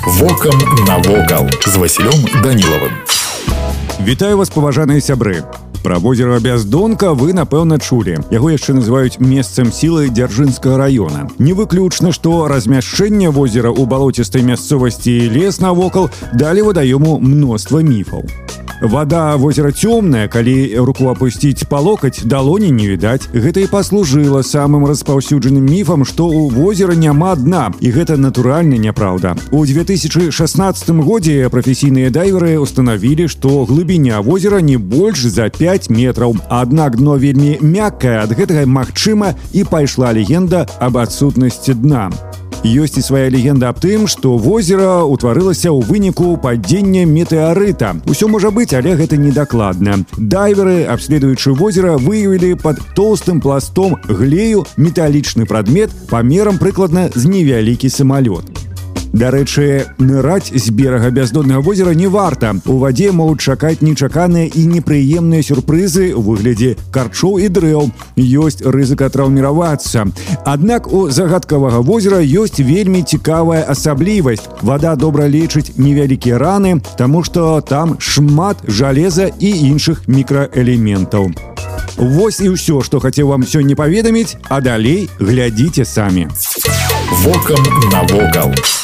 Вокам навокал з Васілём Данілавым. Вітаю вас, паважаныя сябры. Пра возера Бяздонка вы, напэўна, чулі. Яго яшчэ называюць месцам сілы Дзяржынскага раёна. Не выключна, што размяшчэнне возера ў балоцістай мясцовасці і лес навокал далі вадаёму мноства міфаў. Вада возера цёмная, калі руку апусціць па локаць, далоні не відаць. Гэта і паслужыла самым распаўсюджаным міфам, што ў возера няма дна, і гэта натуральна няпраўда. У 2016 годзе прафесійныя дайверы устанавілі, што глыбіня возера не больш за 5 метраў. Аднак дно вельмі мяккае, ад гэтага магчыма і пайшла легенда аб адсутнасці дна. Ёсць і свая легенда аб тым, што возера ўтварылася ў выніку падзення метэарыта. Усё можа быць, але гэта недакладна. Дайверы, абследуючы возера, выявілі пад тоўстым пластом глею металічны прадмет памерам прыкладна з невялікі самалёт. Дарэчы, ныраць з берага бяздоннага возера не варта. У вадзе могуць чакаць нечаканыя і непрыемныя сюрпрызы ў выглядзе карчоў і дрэў. Ёсць рызыка траўміравацца. Аднак у загадкавага возера ёсць вельмі цікавая асаблівасць. Вада добра лечыць невялікія раны, таму што там шмат жалеза і іншых мікраэлементаў. Вось і ўсё, што хацеў вам сёння паведаміць, а далей глядзіце самі. Вокам навокал.